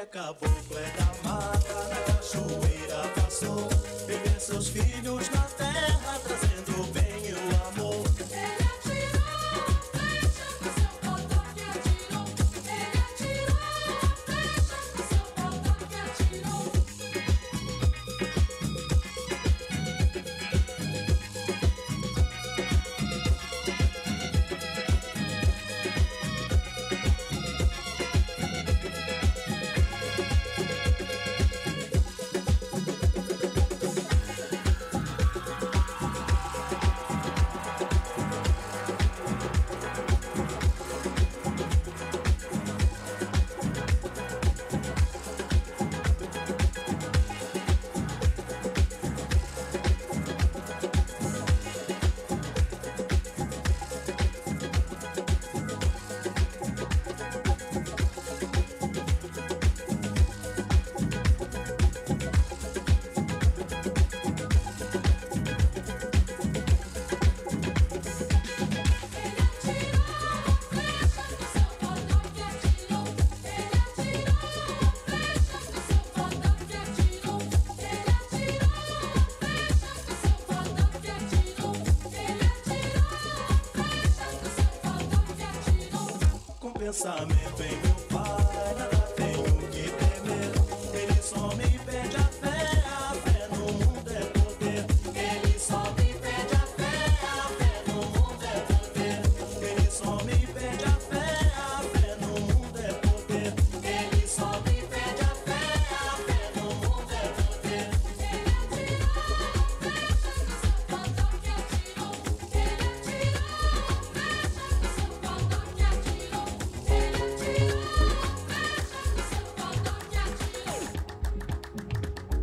caboclo é da mata, na cachoeira passou. E vê seus filhos na terra, trazendo o bem e o amor. Ele atirou a flecha do seu cordão que atirou. Ele atirou a flecha do seu cordão que atirou. Pensamento em meu pai, nada tenho que temer. Ele só me pede a fé no mundo é poder. Ele só me pede a fé no mundo é poder. Ele só me pede a fé no mundo é poder. Ele só me pede a fé no mundo é poder. Ele atirou a flecha do seu cordão que atirou. Ele atirou a flecha do seu cordão que atirou. Ele atirou a flecha do seu cordão que atirou.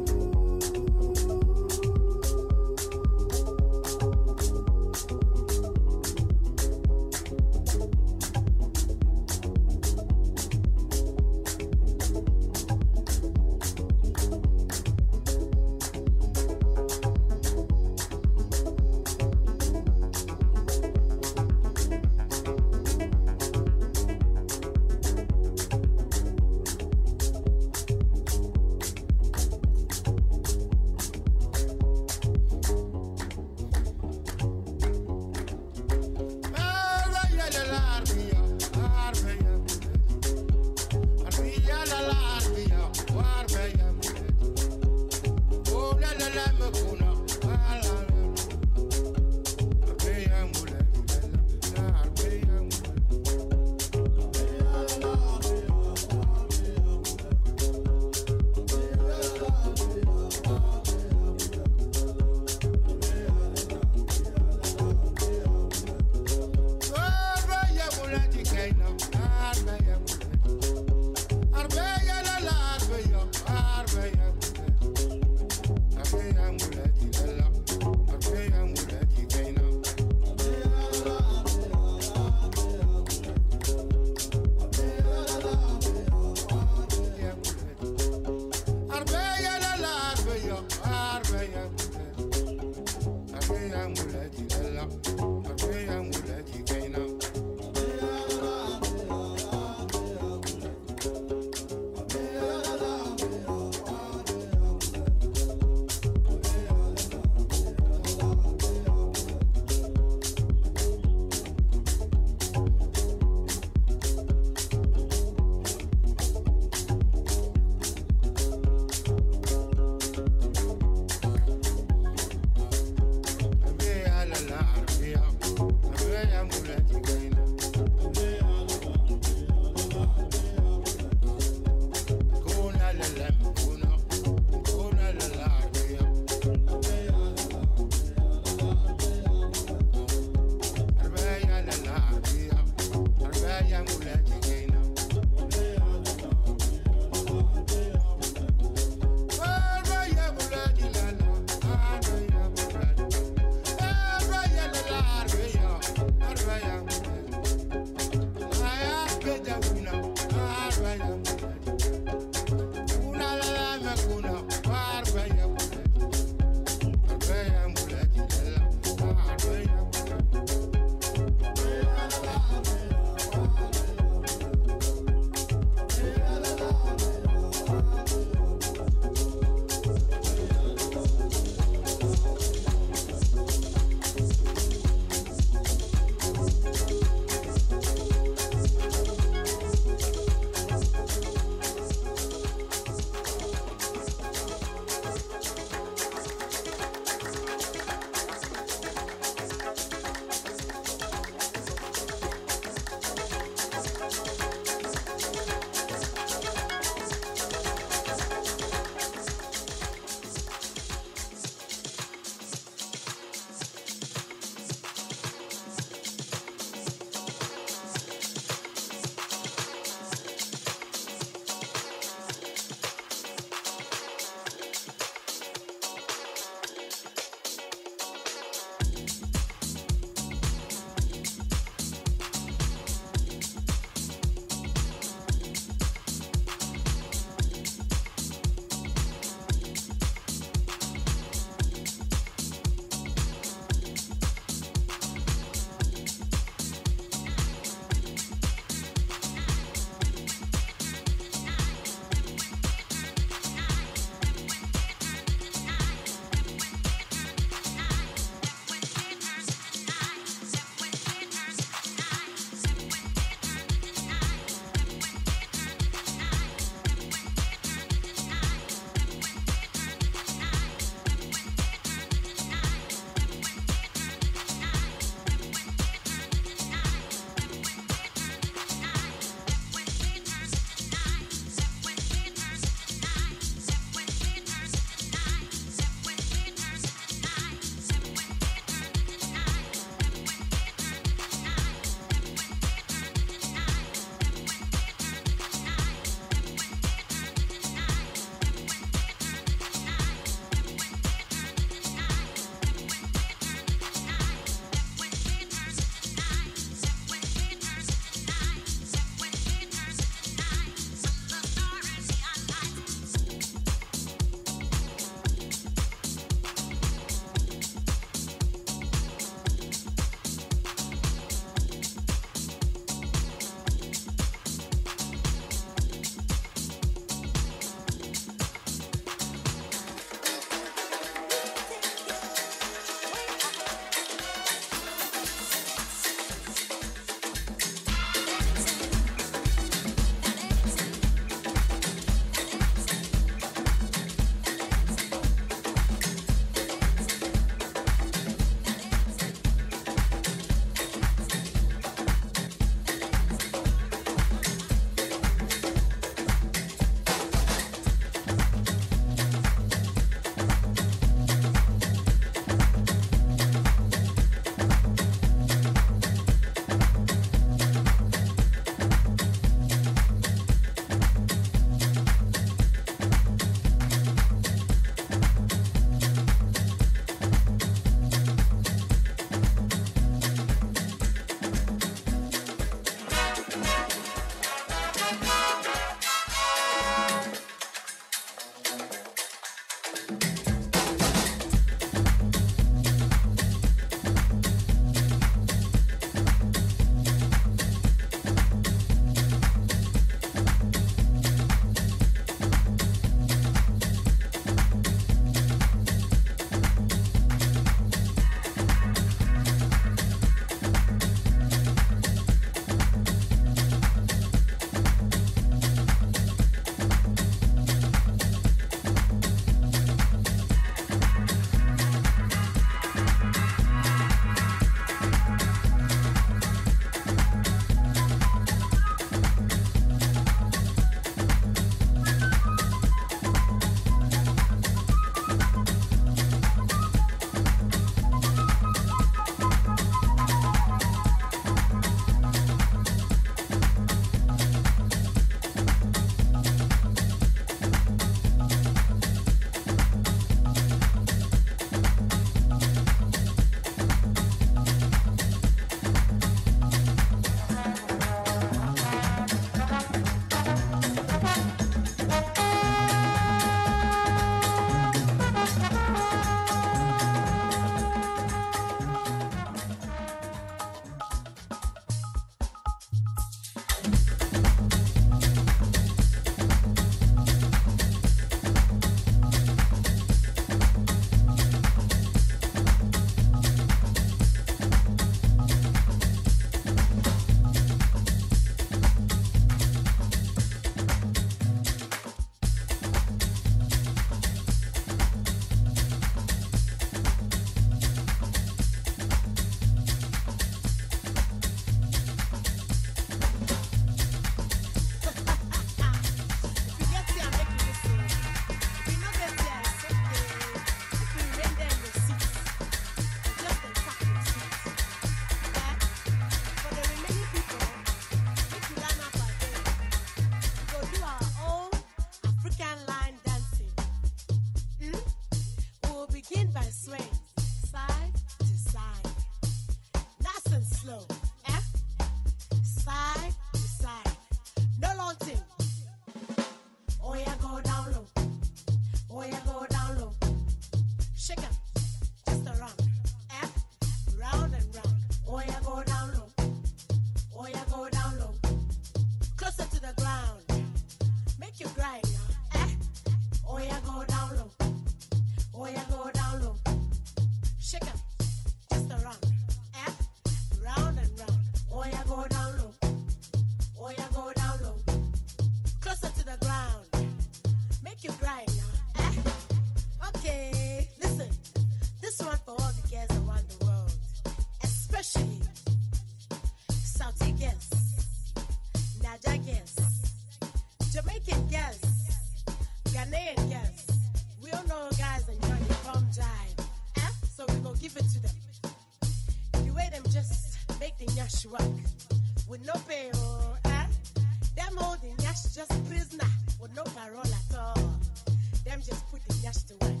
give it to them. The way them just make the nyash work with no pay or them holding nyash just prisoner with no parole at all. Them just put the nyash to work.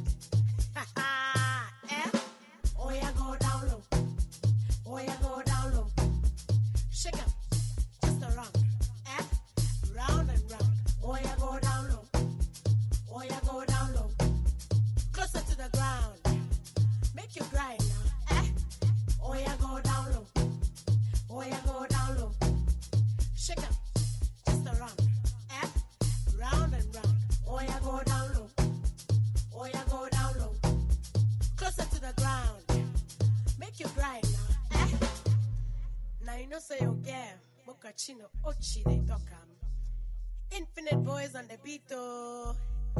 Oh yeah, go down low. Oh yeah, go down low. Shake 'em, just around, round and round. Oh yeah, go down low. Oh yeah, go down low. Closer to the ground. Make you grind now, Oh yeah, go down low. Oh yeah, go down low. Shake 'em, just around, round and round. Oh yeah, go down low. Oh yeah, go down low. Closer to the ground. Make you grind now, Now you know say you get Mokachino Ochi they talk Infinite boys on the beat oh,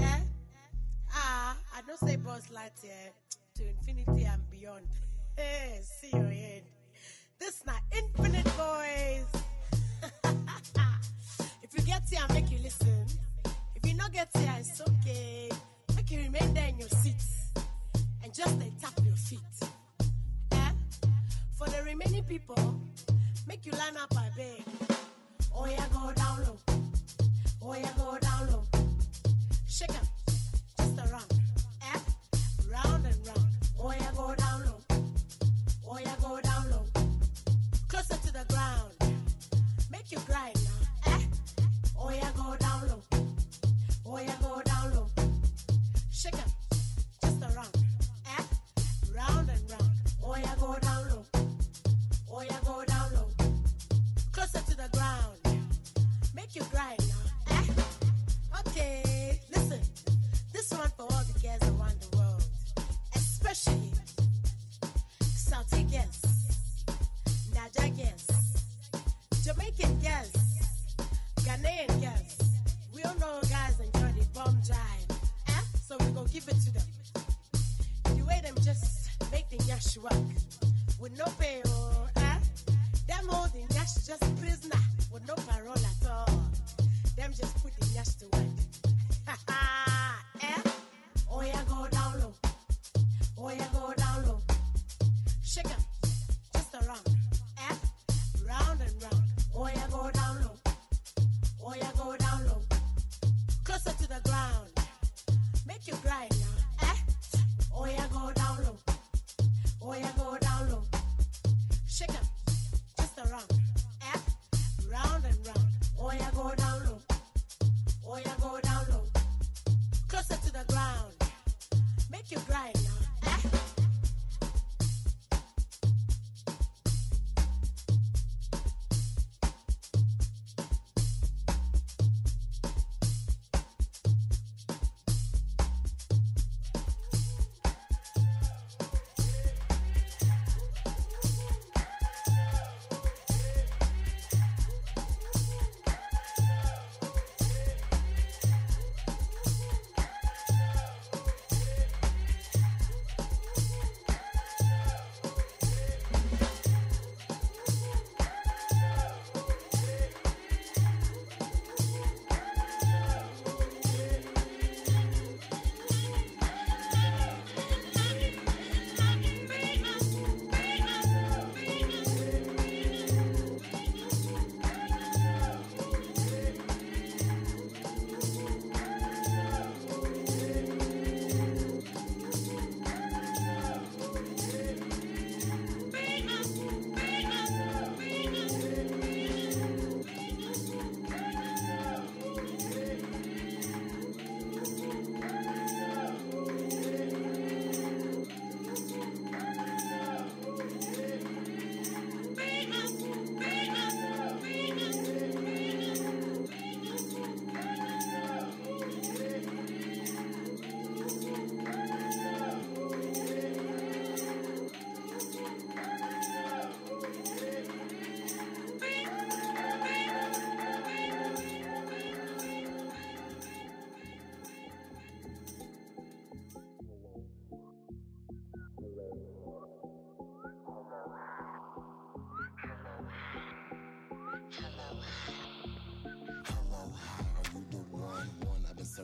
I don't say boss Lightyear to infinity and beyond. Hey, see your head. This not infinite boys. If you get here, make you listen. If you not get here, it's okay. Make you remain there in your seats and just tap your feet. For the remaining people, make you line up, I beg. Oh yeah, go down low. Oh yeah, go down low. Shake 'em, just around, round and round. Oh yeah, go down low. Oh yeah, go down low. Closer to the ground. Make you grind now, Oh yeah, go down low. Oh yeah, go down low. Shake 'em, just around, round and round. Oh yeah, go down low. Oh yeah, go down low. Closer to the ground. Make you grind now, Okay, listen. This one for all the girls around the world, especially Saudi girls, Naija girls, Jamaican girls, Ghanaian girls. We all know guys enjoy the bomb jive, so we gon' give it to them. The way them just make the nyash work with no pay or them holding nyash just prisoner with no parole at all. Them just put the nyash to work. Oh yeah, go down low. Oh yeah, go down low. Shake 'em, just around, round and round. Oh yeah, go down low. Oh yeah, go down low. Closer to the ground. Make you grind now, Oh yeah, go down low. Oh yeah, go down low. Shake 'em, just around, round and round. Oh yeah, go down low. Oh yeah, go down low. Closer to the ground. Make you grind now,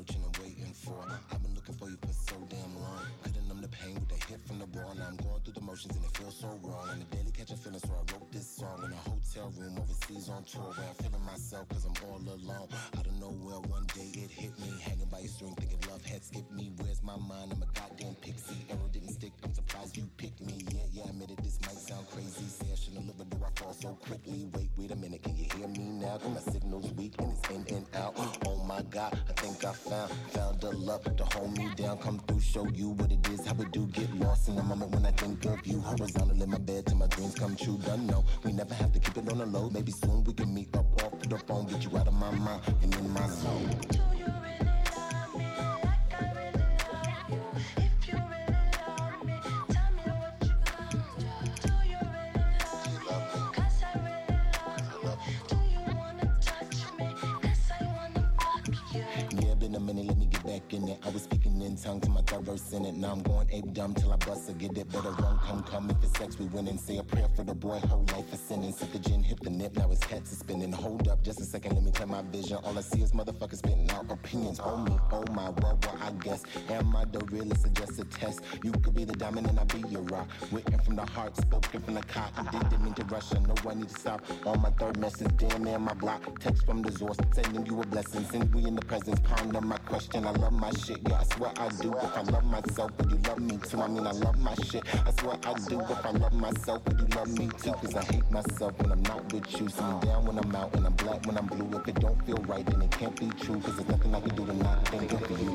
searching and waiting for. I've been looking for you for so damn long. Cutting them the pain with the hit from the ball. Now I'm going through the emotions and it feels so wrong. On the daily catching feelings, so I wrote this song in a hotel room overseas on tour where I'm feeling myself cause I'm all alone. Out of nowhere one day it hit me, hanging by a string thinking love had skipped me. Where's my mind? I'm a goddamn pixie. Arrow didn't stick, I'm surprised you picked me. Yeah, I admit it, this might sound crazy. Say I shouldn't live, but do I fall so quickly? Wait a minute, can you hear me now? Cause my signal's weak and it's in and out. Oh my God, I think I found a love to hold me down. Come through, show you what it is, how it do. Get lost in the moment when I think of you. Horizontal in my bed till my dreams come true. Done know, we never have to keep it on the low. Maybe soon we can meet up off the phone. Get you out of my mind and in my zone. Do you really love me like I really love you? If you really love me, tell me what you gonna do. Do you really love me? 'Cause I really love you. Do you wanna touch me? 'Cause I wanna fuck you. Yeah, been a minute, let me get back in it. I was speaking in tongues to my third verse in it. Now I'm going ape dumb till I bust or get it. Better run, come. If it's sex, we win and say a prayer for the boy. Whole life is sinning. Sip the gin, hit the nip. Now his cats is spinning. Hold up, just a second, let me clear my vision. All I see is motherfuckers spitting out opinions. Oh me, oh my, well, I guess. Am I the realest or just a test? You could be the diamond and I be your rock. Written from the heart, spoken from the cop. I didn't mean to rush, I know I need to stop. On my third message, damn near my block. Text from the source, sending you a blessing. Since we in the presence, ponder my question. I love my shit, yeah, I swear I do. If I love myself, would you love me too? I mean, I love my shit, I swear I do. If I love myself, would you love me too? Cause I hate myself when I'm not with you. See me down when I'm out and I'm black when I'm blue. If it don't feel right, then it can't be true. Cause there's nothing I can do to not think of you.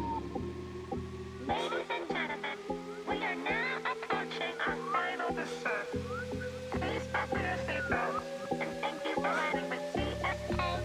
Ladies and gentlemen, we are now approaching our final descent. Please fasten your seatbelts and thank you for riding with CFA.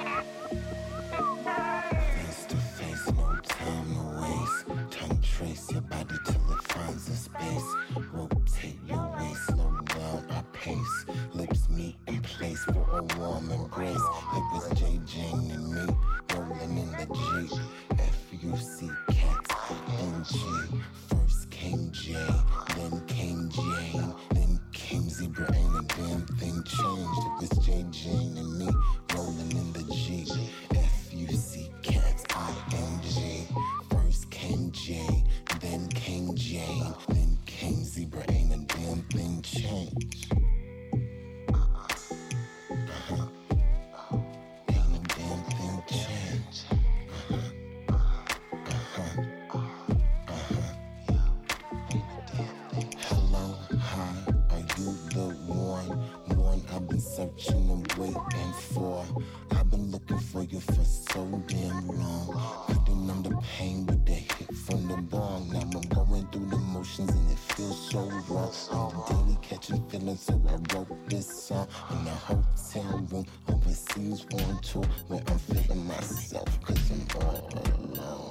Face to face, no time to waste. Tongue trace your body till it finds a space. Rotate your waist, slow down our pace. Lips meet in place for a warm embrace. It was J. Jane and me, rolling in the Jeep. F-U-C cats, N-G. First came J, then came Jane, then came Zebra. Ain't a damn thing changed. It was J. Jane and me, rolling in the Jeep. F-U-C cats, I-N-G. First came J, then came Jane, then came Zebra. Ain't a damn thing changed. Ain't a damn thing changed. Hello, hi, are you the one I've been searching and waiting for? I've been looking for you for so damn long. Couldn't numb the pain with the hit from the bong. Now I'm going through the motions and it feels so wrong. I'm daily catching feelings, so I wrote this song in a hotel room overseas on tour where I'm feeling myself cause I'm all alone.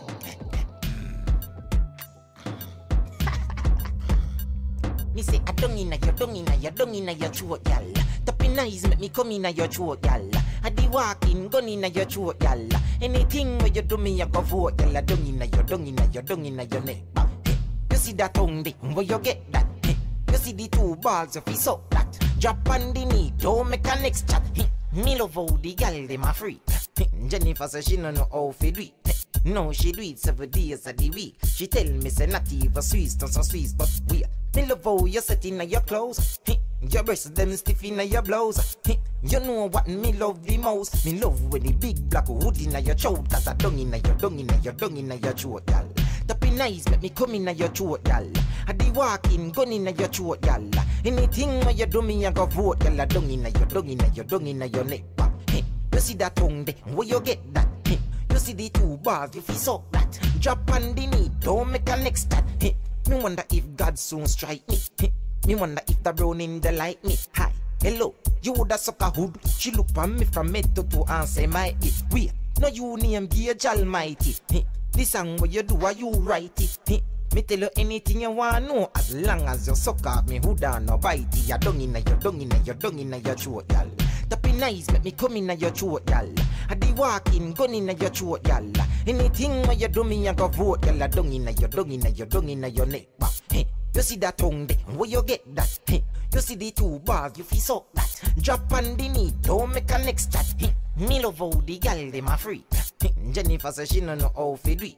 Me say I don't inna your throat, y'all. Tapping eyes make me come inna your throat, y'all. I di walking, gun inna your throat, y'all. Anything where you do me, I go vote, y'all. Dung inna your neck. Hey, you see that tongue, dick, where you get that? Hey, you see the two balls, if you suck that. Drop on the knee, don't make a next chat. Hey, me love how the gal dem a free. Hey, Jennifer says she no know how to do it. No, she do it 7 days of the week. She tell me say not even Swiss, don't so Swiss, but we. Me love how you set in your clothes. Hey, your breasts them stiff in your blouse. Hey, you know what me love the most. Me love when the big black hood in your throat. Cause I dung in your throat, y'all. Tapping eyes make me come in your throat, y'all. I di walking, gun in your throat, y'all. Anything where you do me, I go vote, y'all. Dung in your neck. Hey, you see that tongue there, where you get that? Hey, you see the two bars, if you suck that. Drop on the knee, don't make a next stat. Hey, me wonder if God soon strike me. Hey, me wonder if the browning they like me. Hi, hello, you woulda suck a hood. She look on me from head to toe and say my it. Wait, no you name Gage Almighty. Hey, this song what you do, are you write it? Hey, me tell you anything you want know. As long as you suck off me hood'a no bite it. You dung inna your throat, y'all. Tapping eyes make me come inna your throat, y'all. I di walking, gun inna your throat, y'all. Anything where you do me, I go vote, y'all. Dung inna your neck. Hey, you see that tongue there, where you get that? Hey, you see the two bars, you feel suck that. Drop on the knee, don't make a next chat. Hey, me love how the gal dem a free. Hey, Jennifer says she no know how to do it. Hey,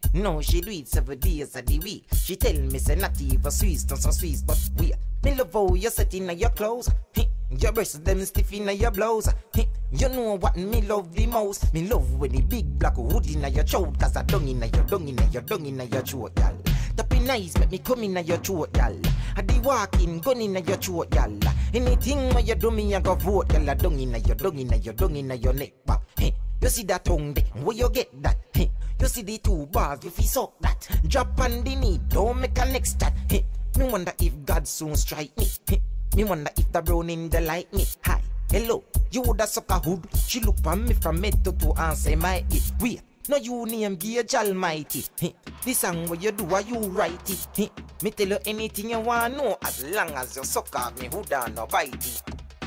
No, she do it 7 days of the week. She tell me say not even Swiss, not some Swiss, but we. Me love how you set in your clothes. Your breasts them stiff in your blouse. You know what me love the most? Me love when the big black hood in your throat. Cause I dung in your throat, y'all. Tapping nice, make me come in your throat, y'all. I the walking, gun in your throat, y'all. Anything where you do me, I go vote, y'all. Dung in your neck, but you see that tongue there, where you get that? You see the 2 bars, you feel suck that. Drop on the knee, don't make a next chat. Me wonder if God soon strike me. Me wonder if the browning they like me. Hi, hello, you woulda suck a hood. She look on me from head to toe and say my it. Wait, no you name Gage Almighty. This song what you do, why you write it? Me tell you anything you wanna know as long as you suck off me hood'a no bite it.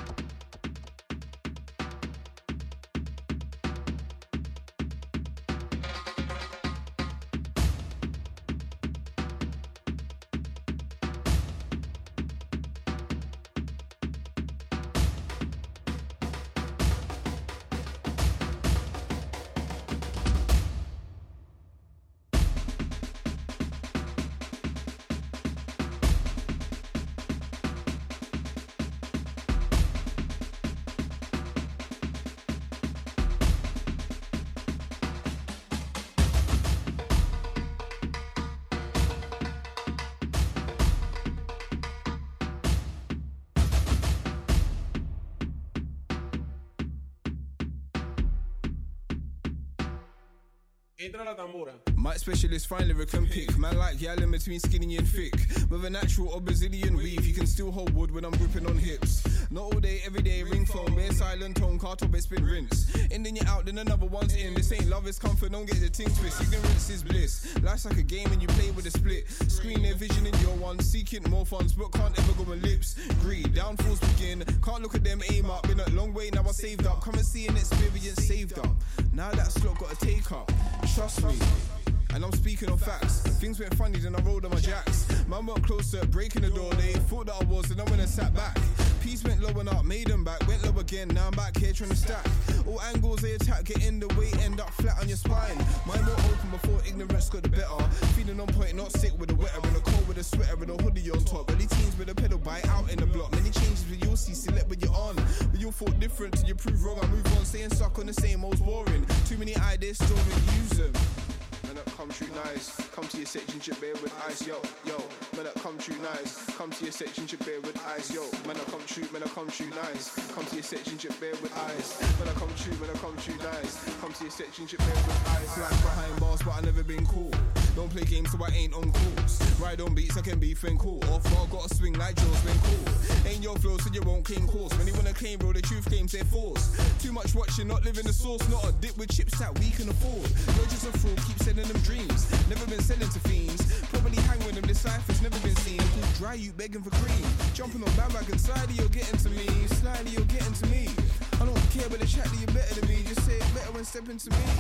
Entra la tambora. Mic specialist, fine lyric and pick. Man like yell in between skinny and thick. With a natural or Brazilian weave, you can still hold wood when I'm gripping on hips. Not all day, every day, ring phone, bare silent tone, car top, it's been rinse. And then you're out, then another one's in. This ain't love, it's comfort, don't get the ting twist. Ignorance is bliss. Life's like a game and you play with a split. Screen their vision in your one, seeking more funds, but can't ever go on lips. Greed, downfalls begin. Can't look at them, aim up. Been a long way, now I saved up. Come and see an experience saved up. Now that slot got to take up. Trust me. And I'm speaking on facts. Things went funny, then I rolled on my jacks. Man went closer, breaking the door. They thought that I was, and I went and sat back. Peace went low and up, made them back. Went low again, now I'm back here trying to stack. All angles they attack, get in the way, end up flat on your spine. Mind more open before ignorance got the better. Feeling on point, not sick with a wetter. In a cold with a sweater and a hoodie on top. Early teens with a pedal bite out in the block. Many changes with you'll see, select what you're on. But you'll thought different till you prove wrong. I move on, staying stuck on the same old boring. Too many ideas, still use them. Man up, come true nice. Come to your section, chip beer with ice, yo, yo. Man up, come true nice. Come to your section, chip beer with ice, yo. Man up, come true nice. Come to your section, chip beer with ice. Man up, come true nice. Come to your section, chip beer with ice. Like behind bars, but I never been cool. Don't play games, so I ain't on calls. Ride on beats, I can be fin cool. Off road, gotta swing like Joe's been cool. Ain't your flow, so you won't claim calls. When you wanna claim, bro, the truth games, they're force. Too much watching, not living the source. Not a dip with chips that we can afford. You're just a fraud, keep sending them dreams. Never been selling to fiends. Probably hang with them, this cipher's never been seen. Pull dry, you begging for cream. Jumping on bandwagon, slightly you're getting to me. Slightly you're getting to me. I don't care about the chat that you're better than me. Just say it better when stepping to me.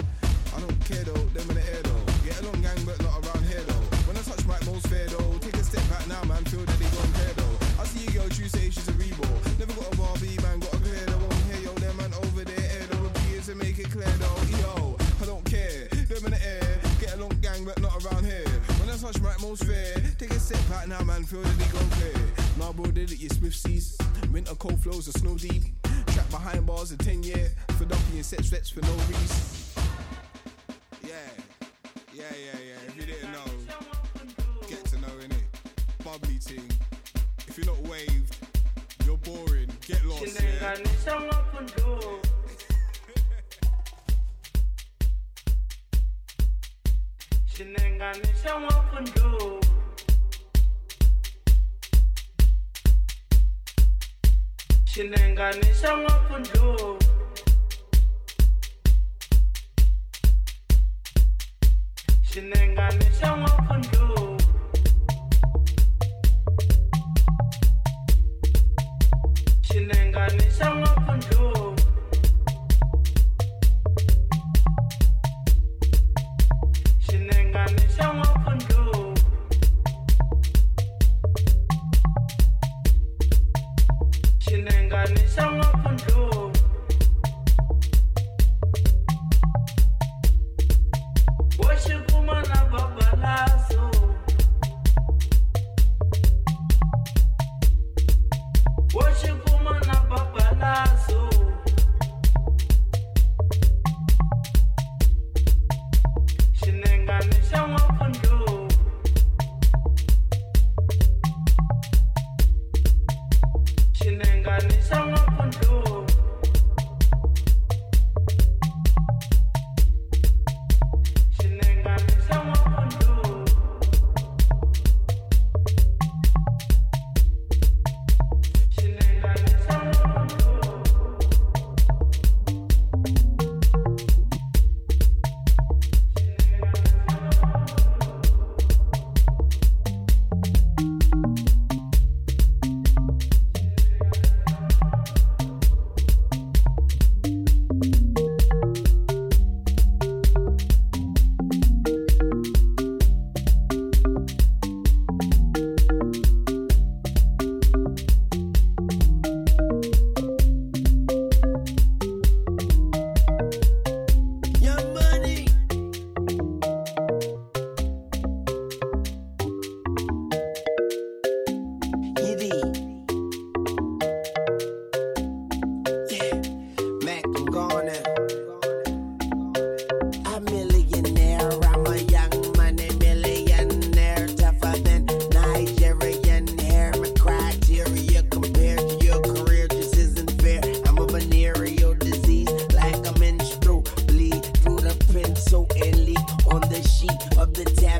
I don't care though, them in the air though. Get along gang, but not around here though. When I touch mic, most fair though. Take a step back now, man, feel that they don't care though. I see you girl, true say she's a rebel. Never got a Barbie, man, got a clear though. Won't hear yo, them man over there, air though. Repeat to make it clear though. Yo, I don't care, them in the air. Get along gang, but not around here. When I touch mic, most fair. Take a step back now, man, feel that they don't care. Nah, bro, did it, you swift seas. Winter cold flows are snow deep. Trapped behind bars a 10-year. For dumpy and set sweats for no reason. Yeah. If you didn't know, get to know, innit? Bubbly ting. If you're not waved, you're boring. Get lost, yeah? Shinenganisha wapundu. Shinenganisha wapundu. Shinenganisha wapundu. Shinenganisha wapundu. Washikuma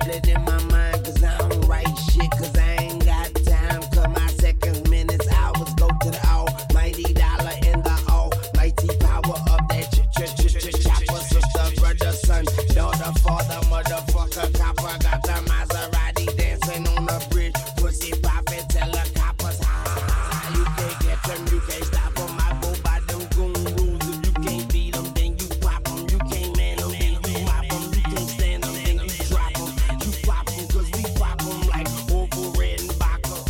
it in my mind, cause I don't write shit, cause I ain't got time. Cause my seconds, minutes, hours go to the almighty dollar in the almighty power of that chopper. Sister, brother, son, daughter, father, motherfucker, copper. Got the Maserati dancing on the bridge. Pussy poppin', tell the coppers, ha ha ha. You can't catch them, you can't stop them. I go by them goon rules. If you can't beat them, then you pop them. You can't man them, then you mop them. You can't stand them, then you drop them. You pop them, cause we pop them like Orville Redenbacher.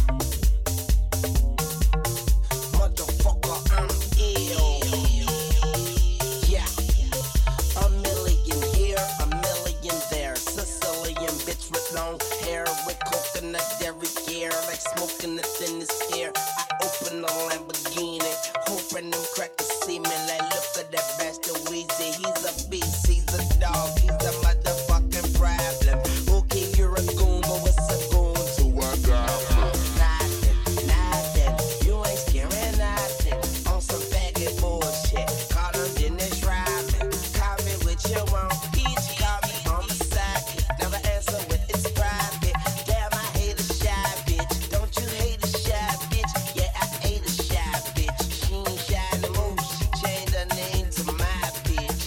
Motherfucker, I'm ill. Yeah. A million here, a million there. Sicilian bitch with long hair, with coconut derriere, like smoking the thinnest air. I open the Lamborghini, hoping them crackers see me. Like, look at that bastard Weezy. He's a beast, he's a dog, he's a motherfucking problem. Okay, you're a goon, but what's a goon? So I got nothing, nothing. You ain't scaring nothing. On some faggot bullshit. Call them Dennis Rodman. Call me what you want. Each call me on my side. Never answer with it's private. Damn, I hate a shy bitch. Don't you hate a shy bitch? Yeah, I hate a shy bitch. She ain't shy no more. She changed her name to my bitch.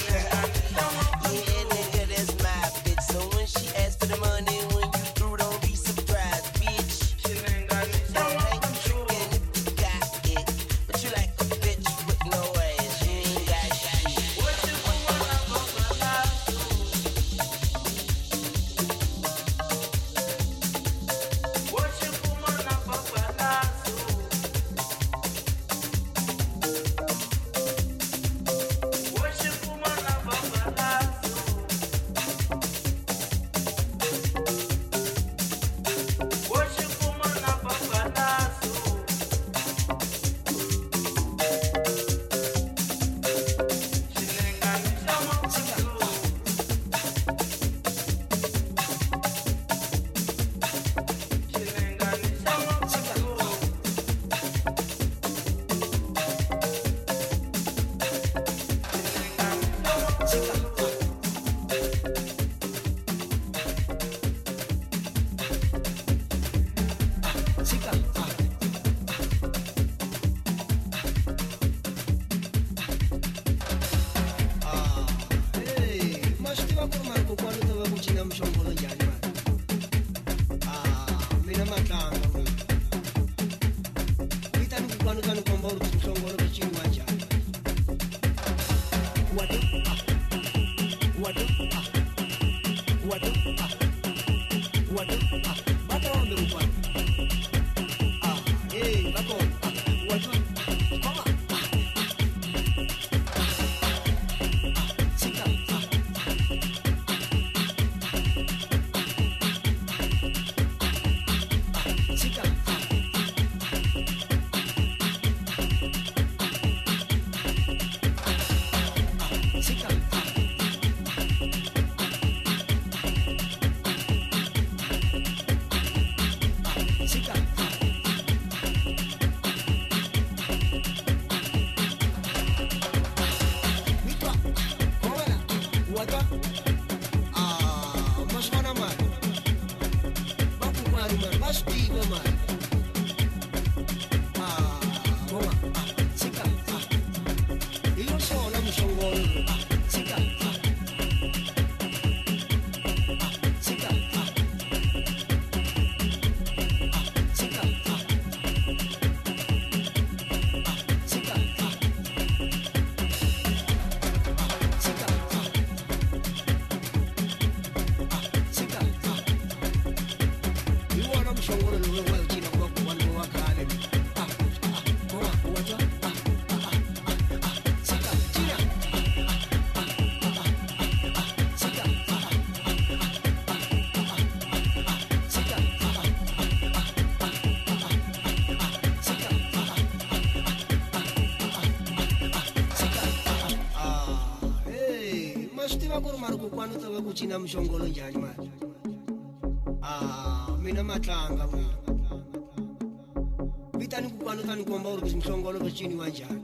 Yeah, nigga, that's my bitch. So when she asks for the money, when you through, don't be surprised, bitch. Don't make you trickin' if you got it. But you like a bitch with no ass. She ain't got shit. What you kuchina mshongolo njani manje? Mina matlanga mina. Vitani kukwano tani kuomba uri mshongolo kuchini wanjani.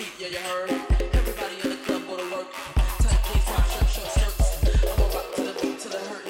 feet, yeah, you heard. Everybody in the club go to work. Tight jeans, pop shirt, short skirts. I'ma rock to the beat till it hurt.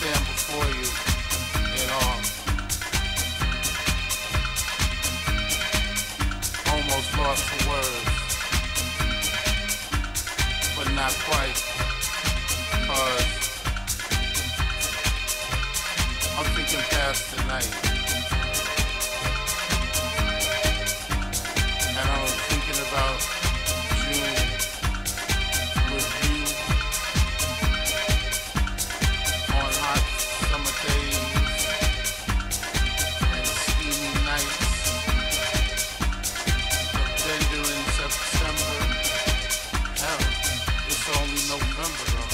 stand before you in awe. Almost lost for words, but not quite, 'cause I'm thinking past the night, and I'm thinking about June with you on hot summer days and steamy nights. But then during September, hell, it's only November though.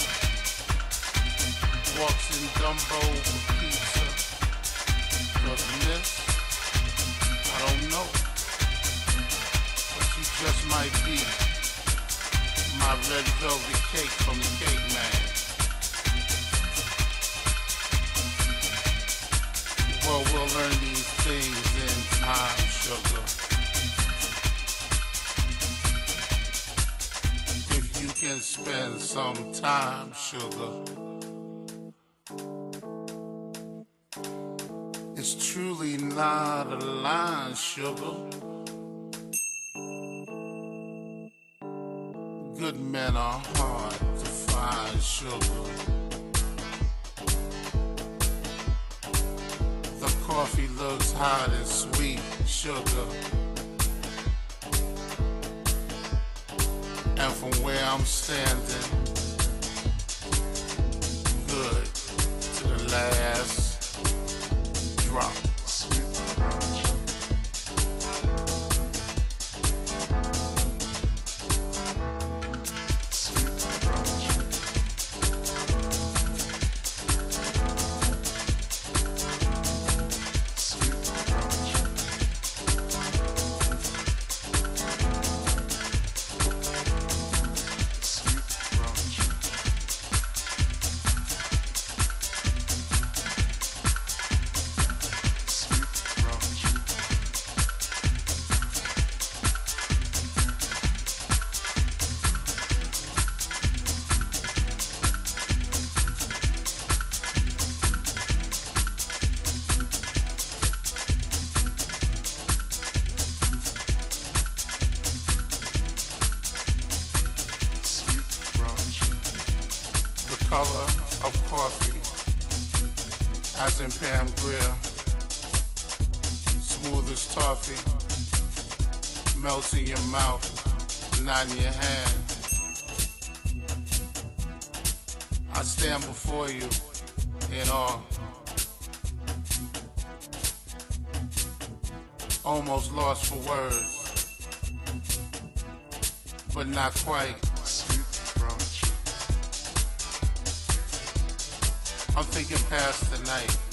Walks in Dumbo for pizza. 'Cause miss, I don't know, but you just might be my red velvet cake from the Cake Man. Well, we'll learn these things in time, sugar. If you can spend some time, sugar. It's truly not a line, sugar. Good men are hard to find, sugar. The coffee looks hot and sweet, sugar. And from where I'm standing, good to the last drop. Color of coffee, as in Pam Grier, smooth as toffee, melts in your mouth, not in your hand. I stand before you in awe, almost lost for words, but not quite. I'm thinking past the night,